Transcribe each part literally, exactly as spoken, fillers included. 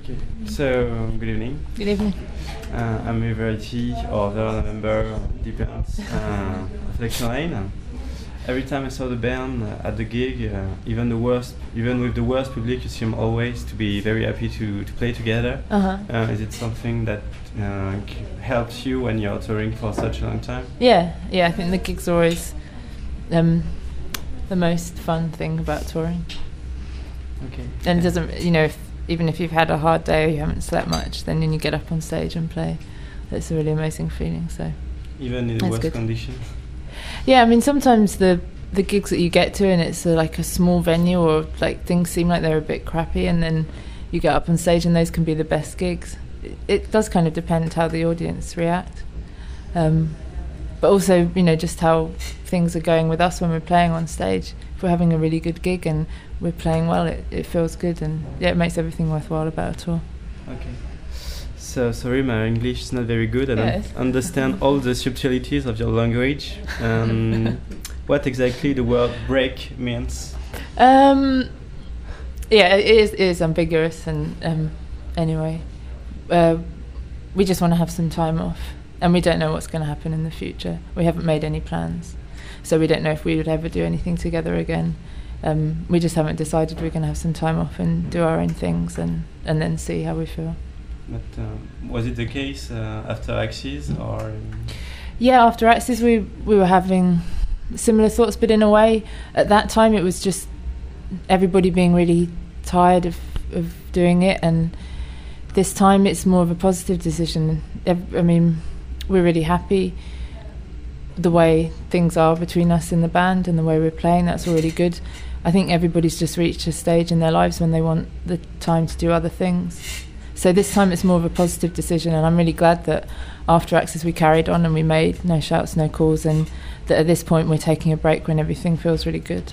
Okay, so um, good evening. Good evening. Uh, I'm a variety or the member, depends, uh, of Election Lane. Every time I saw the band uh, at the gig, uh, even the worst, even with the worst public, you seem always to be very happy to, to play together. Uh-huh. Uh, is it something that uh, c- helps you when you're touring for such a long time? Yeah, yeah. I think the gigs are always um, the most fun thing about touring. Okay. And it doesn't, you know, if, even if you've had a hard day or you haven't slept much, then when you get up on stage and play, it's a really amazing feeling. So Even in the That's worst good. conditions? yeah, I mean, sometimes the the gigs that you get to and it's a, like a small venue or like things seem like they're a bit crappy, and then you get up on stage and those can be the best gigs. It, it does kind of depend how the audience react, um, but also, you know, just how things are going with us when we're playing on stage. If we're having a really good gig and we're playing well, it, it feels good, and yeah, it makes everything worthwhile about a tour. Okay. So sorry, my English is not very good. I Yeah, don't it's- understand all the subtleties of your language. Um, what exactly the word break means? Um, yeah, it is, it is ambiguous, and um, anyway, uh, we just want to have some time off, and we don't know what's going to happen in the future. We haven't made any plans, so we don't know if we would ever do anything together again. Um, we just haven't decided we're going to have some time off and do our own things, and, and then see how we feel. But um, was it the case uh, after Axis or? Um, Yeah, after Axis we we were having similar thoughts, but in a way, at that time it was just everybody being really tired of, of doing it, and this time it's more of a positive decision. Ev- I mean, we're really happy the way things are between us in the band and the way we're playing. That's already good. I think everybody's just reached a stage in their lives when they want the time to do other things. So this time it's more of a positive decision, and I'm really glad that after Axis we carried on and we made No Shouts, No Calls, and that at this point we're taking a break when everything feels really good.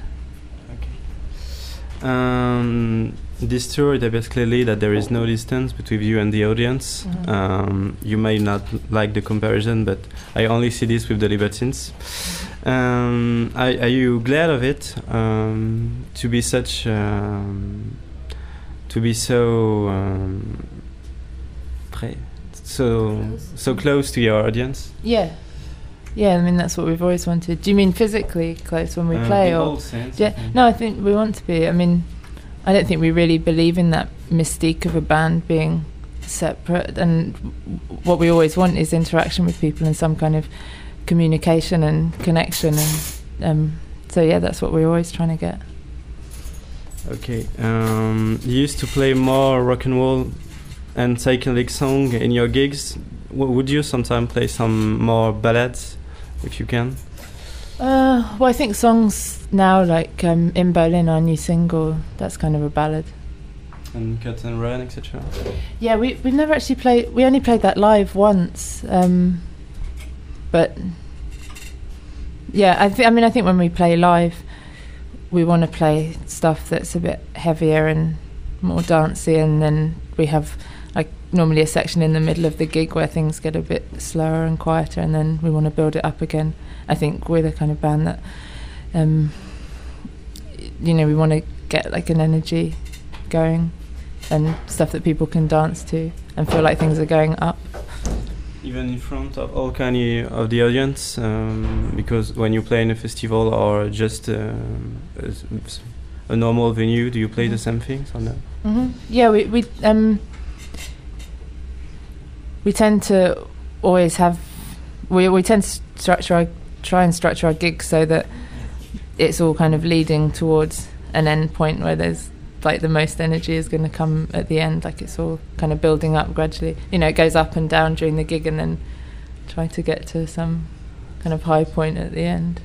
Okay. Um, this tour it appears clearly that there is no distance between you and the audience. Mhm. Um, you may not like the comparison, but I only see this with the Libertines. Um, are, are you glad of it um, to be such? Um, to be so um, pre- so so close to your audience? Yeah, yeah. I mean that's what we've always wanted. Do you mean physically close when we Uh, play, in or? all sense, Yeah, I think. no, I think we want to be. I mean, I don't think we really believe in that mystique of a band being separate, and w- what we always want is interaction with people and some kind of communication and connection, and um, so yeah, that's what we're always trying to get. Okay. Um, you used to play more rock and roll and psychedelic song in your gigs. W- would you sometimes play some more ballads, if you can? Uh, well, I think songs now, like um, In Berlin, our new single, that's kind of a ballad. And Cut and Run, et cetera. Yeah, we we've never actually played. We only played that live once, um, but yeah, I th- I mean, I think when we play live, we want to play stuff that's a bit heavier and more dancey, and then we have like normally a section in the middle of the gig where things get a bit slower and quieter, and then we want to build it up again. I think we're the kind of band that, um, you know, we want to get like an energy going and stuff that people can dance to and feel like things are going up. Even in front of all kind of the audience, um, because when you play in a festival or just um, a, s- a normal venue, do you play the same things or no? Mm-hmm. Yeah, we we um we tend to always have we we tend to structure our, try and structure our gigs so that it's all kind of leading towards an end point where there's like the most energy is going to come at the end. Like it's all kind of building up gradually. You know, it goes up and down during the gig, and then try to get to some kind of high point at the end.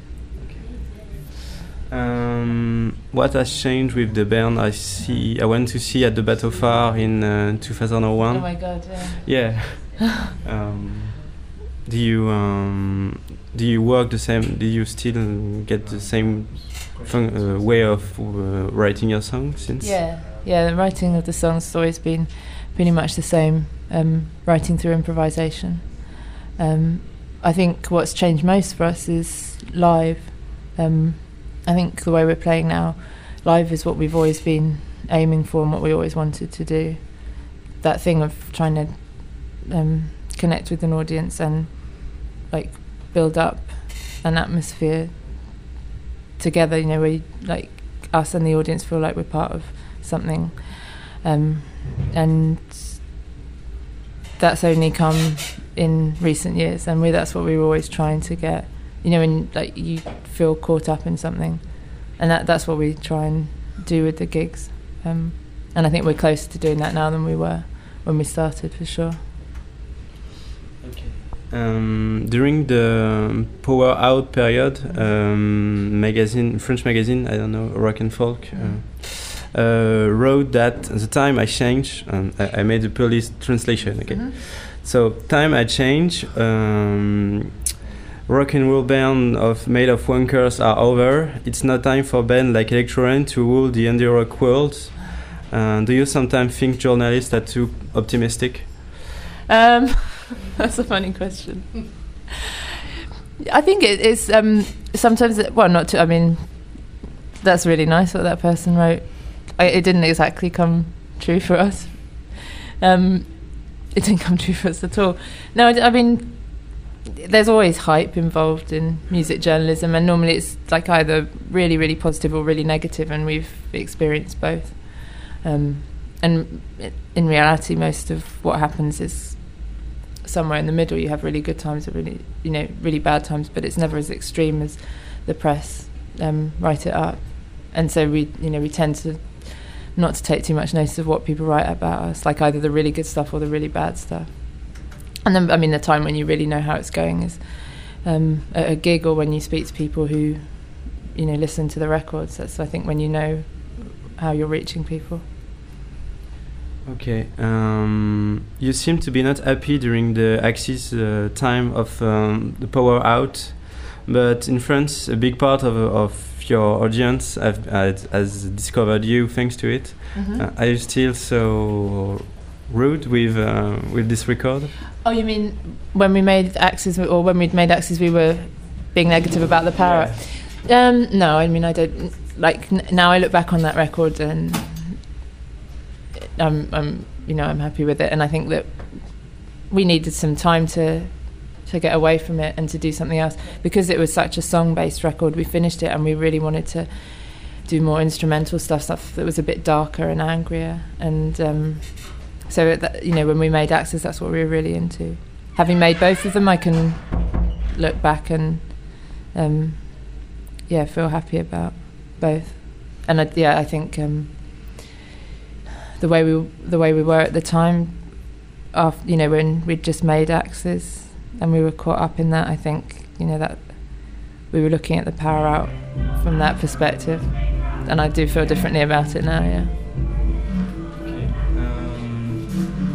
Um, what has changed with the band? I see. I went to see at the Bateau Phare in uh, two thousand one. Oh my god! Yeah. Yeah. um, do you um, do you work the same? Do you still get the same fun- uh, way of uh, writing your songs since? Yeah, yeah. The writing of the songs has always been pretty much the same. Um, writing through improvisation. Um, I think what's changed most for us is live. Um, I think the way we're playing now, live is what we've always been aiming for and what we always wanted to do. that thing of trying to um, connect with an audience and like build up an atmosphere together, you know, where you, like us and the audience feel like we're part of something, um, and that's only come in recent years, and we that's what we were always trying to get, you know, when like you feel caught up in something, and that that's what we try and do with the gigs, um, and I think we're closer to doing that now than we were when we started, for sure. Okay. Um, during the Power Out period, um, magazine, French magazine, I don't know, Rock and Folk, uh, uh, wrote that at the time I changed, um, I, I made a police translation, okay? Mm-hmm. So, time I changed, um, rock and roll band of made of wankers are over. It's not time for band like Electrorain to rule the indie rock world. Uh, do you sometimes think journalists are too optimistic? Um, that's a funny question. I think it is um, sometimes, it, well, not to, I mean, that's really nice what that person wrote. I, it didn't exactly come true for us. Um, it didn't come true for us at all. No, I, I mean, there's always hype involved in music journalism, and normally it's like either really, really positive or really negative, and we've experienced both. Um, and in reality, most of what happens is somewhere in the middle. You have really good times or really, you know, really bad times, but it's never as extreme as the press um, write it up. And so we, you know, we tend to not to take too much notice of what people write about us, like either the really good stuff or the really bad stuff. And then, I mean, the time when you really know how it's going is um, at a gig or when you speak to people who, you know, listen to the records. That's, I think, when you know how you're reaching people. Okay. Um, you seem to be not happy during the Axis uh, time of um, the Power Out, but in France, a big part of of your audience have, has, has discovered you thanks to it. Mm-hmm. Uh, are you still so rude with uh, with this record? Oh, you mean when we made Axis, or when we'd made Axis, we were being negative about the Power? Yeah. Um, no, I mean, I don't like. N- now I look back on that record and I'm, I'm, you know, I'm happy with it, and I think that we needed some time to to get away from it and to do something else, because it was such a song-based record. We finished it and we really wanted to do more instrumental stuff, stuff that was a bit darker and angrier, and um, so it, that, you know, when we made Axis, that's what we were really into. Having made both of them, I can look back and um, yeah, feel happy about both. And I, yeah, I think um, the way we the way we were at the time, after, you know, when we'd just made Axis and we were caught up in that, I think, you know, that we were looking at the Power Out from that perspective, and I do feel differently about it now. Yeah. Okay. Um,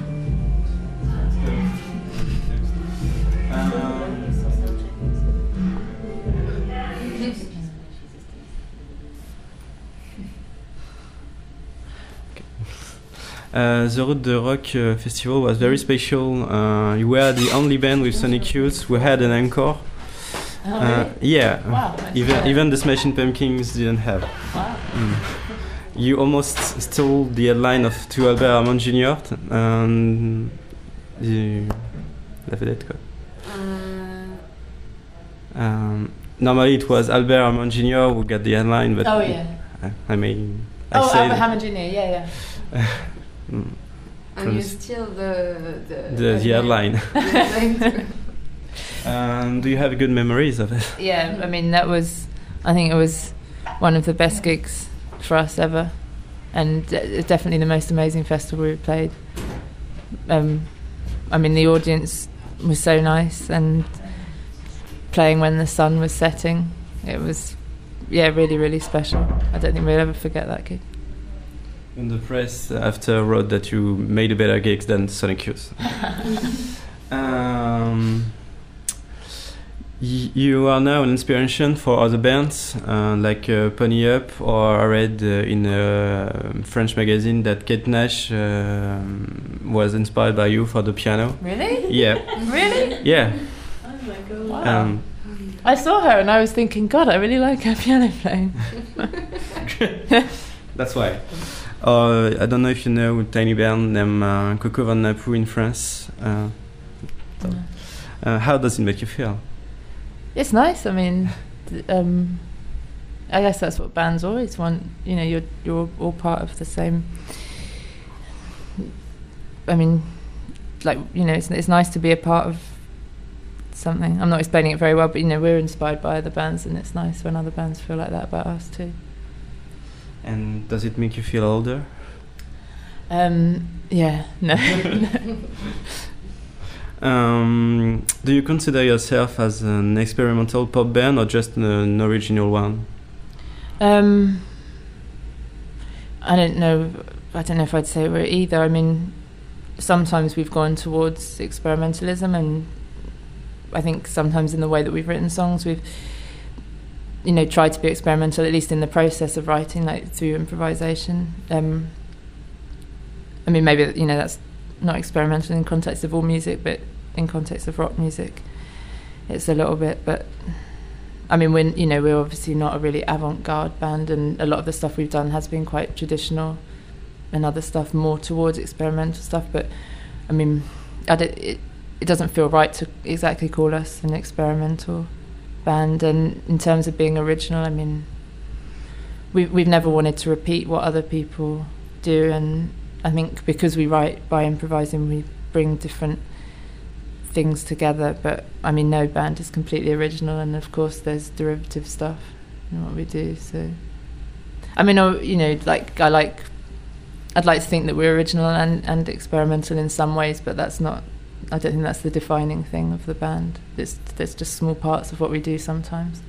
Uh, the Route de Rock uh, festival was very special. Uh, you were the only band with Sonic Youth who had an encore. Oh, uh, really? Yeah, wow, even even the Smashing Pumpkins didn't have. Wow. Mm. You almost stole the headline of to Albert Hammond Junior Um, you la vedette quoi. Uh. Um, normally it was Albert Hammond Junior who got the headline, but oh yeah. I, I mean. I oh, Albert Hammond Junior Yeah, yeah. Mm. And you steal the the, the, the headline. um, do you have good memories of it? Yeah, I mean, that was, I think it was one of the best gigs for us ever, and uh, definitely the most amazing festival we've played. Um, I mean, the audience was so nice, and playing when the sun was setting, it was, yeah, really, really special. I don't think we'll ever forget that gig. And the press after wrote that you made a better gigs than Sonic Youth. um, y- you are now an inspiration for other bands uh, like uh, Pony Up, or I read uh, in a French magazine that Kate Nash uh, was inspired by you for the piano. Really? Yeah. Really? Yeah. Oh my god! Wow. Um, I saw her and I was thinking, God, I really like her piano playing. That's why. Uh, I don't know if you know a tiny band named uh, Coco Van Napu in France. Uh, so, Yeah. uh, how does it make you feel? It's nice. I mean, th- um, I guess that's what bands always want. You know, you're you're all part of the same. I mean, like, you know, it's it's nice to be a part of something. I'm not explaining it very well, but you know, we're inspired by other bands, and it's nice when other bands feel like that about us too. And does it make you feel older? Um, yeah, no. um, do you consider yourself as an experimental pop band or just an, an original one? Um, I don't know. I don't know if I'd say we're either. I mean, sometimes we've gone towards experimentalism, and I think sometimes in the way that we've written songs, we've, you know, tried to be experimental, at least in the process of writing, like through improvisation. Um, I mean, maybe, you know, that's not experimental in context of all music, but in context of rock music, it's a little bit. But I mean, when you know, we're obviously not a really avant-garde band, and a lot of the stuff we've done has been quite traditional, and other stuff more towards experimental stuff. But I mean, I don't, it it doesn't feel right to exactly call us an experimental band. And in terms of being original, I mean, we we've never wanted to repeat what other people do, and I think because we write by improvising, we bring different things together. But I mean, no band is completely original, and of course there's derivative stuff in what we do. So I mean, you know, like I like I'd like to think that we're original and, and experimental in some ways, but that's not, I don't think that's the defining thing of the band. It's, there's just small parts of what we do sometimes.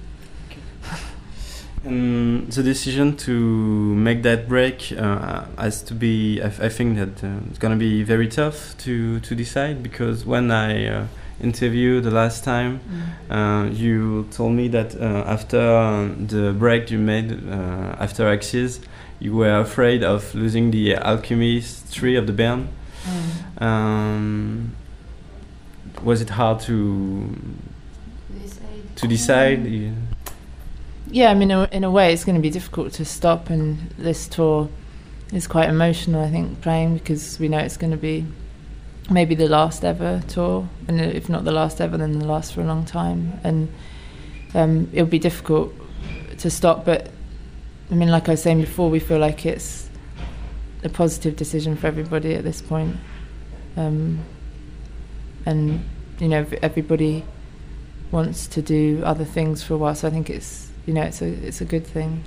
Um, the decision to make that break uh, has to be, I, f- I think that uh, it's going to be very tough to, to decide, because when I uh, interviewed the last time, mm. uh, you told me that uh, after uh, the break you made uh, after Axis, you were afraid of losing the alchemistry of the band. Mm. Um, was it hard to decide? To decide? Yeah. Yeah, I mean, in a way, it's going to be difficult to stop, and this tour is quite emotional, I think, playing, because we know it's going to be maybe the last ever tour, and if not the last ever, then the last for a long time, and um, it'll be difficult to stop. But I mean, like I was saying before, we feel like it's a positive decision for everybody at this point, um, and you know, everybody wants to do other things for a while, so I think it's, you know, it's a it's a good thing.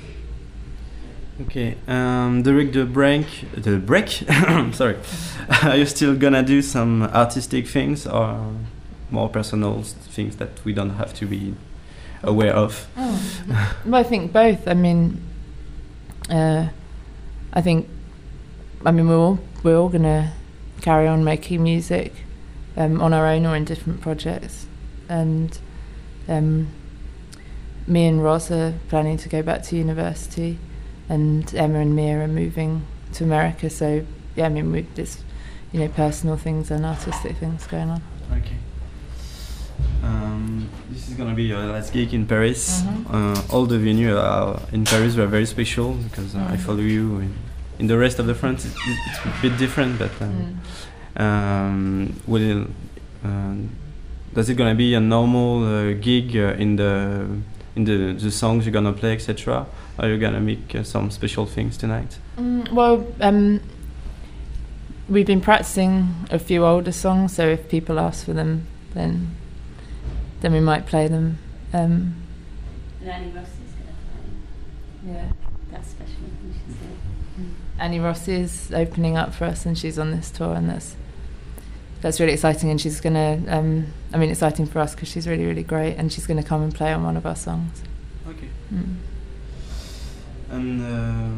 Okay, um, during the break, the break, sorry, are you still gonna do some artistic things or more personal things that we don't have to be aware of? Oh. Well, I think both. I mean, uh, I think, I mean, we're all we're all gonna carry on making music um, on our own or in different projects, and um, me and Roz are planning to go back to university, and Emma and Mia are moving to America. So yeah, I mean, we just, you know, personal things and artistic things going on. Okay. Um, this is gonna be your last gig in Paris. Mm-hmm. Uh, all the venues are in Paris were very special, because uh, mm. I follow you in, in the rest of the France. It's, it's a bit different, but um, mm. um, will uh, does it gonna be a normal uh, gig uh, in the in the, the songs you're gonna play, et cetera? Or are you gonna make uh, some special things tonight? Mm, well, um, we've been practicing a few older songs, so if people ask for them, then then we might play them. Um, and Annie Ross is going to play. Yeah, that's special, you should say. Mm. Annie Ross is opening up for us, and she's on this tour, and that's that's really exciting. And she's going to, um, I mean, exciting for us because she's really, really great, and she's going to come and play on one of our songs. Okay. Mm. And um,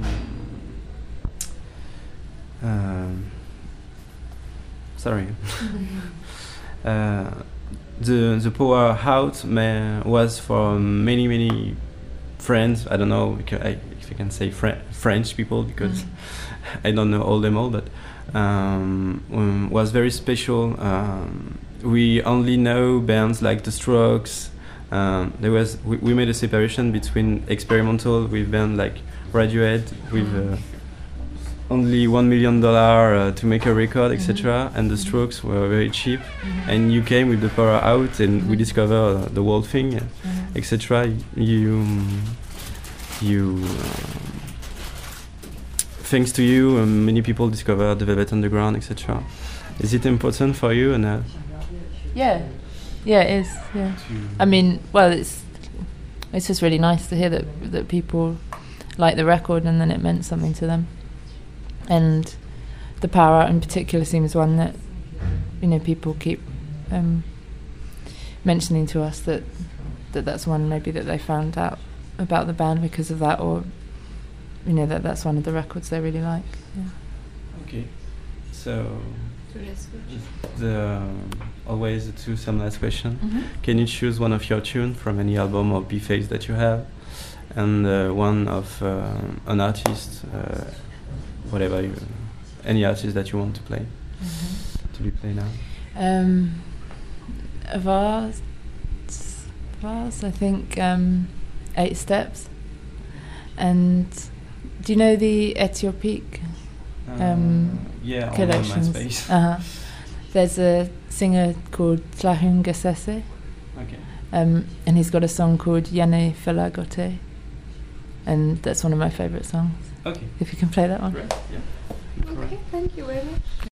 um, sorry. uh, the the Power Out may, was for many many friends. I don't know because I, if I can say Fre- French people, because mm. I don't know all them all, but um, um, was very special. Um, we only know bands like The Strokes. Um, there was we, we made a separation between experimental with bands like Radiohead with uh, only one million dollar uh, to make a record, et cetera. Mm-hmm. And the Strokes were very cheap. Mm-hmm. And you came with the power out, and Mm-hmm. we discovered uh, the whole thing, Mm-hmm. et cetera. You, you, um, thanks to you, um, many people discovered the Velvet Underground, et cetera. Is it important for you? And uh, Yeah, yeah, it is. Yeah, I mean, well, it's it's just really nice to hear that that people like the record, and then it meant something to them. And the Power Out in particular seems one that, you know, people keep um, mentioning to us that that that's one maybe that they found out about the band because of that, or you know that that's one of the records they really like. Yeah. okay, so the um, always the two some last question. Mm-hmm. Can you choose one of your tunes from any album or B-Face that you have, and uh, one of uh, an artist, uh, whatever you, any artist that you want to play, Mm-hmm. to be played now? Um, of ours, of ours, I think um, Eight Steps. And do you know the Etiopique um, yeah, collections? on MySpace. Uh-huh. There's a singer called Tlahun Gassese, Okay. um, and he's got a song called Yane Felagote, and that's one of my favourite songs. Okay. If you can play that one. Great. Yeah. Okay, thank you very much.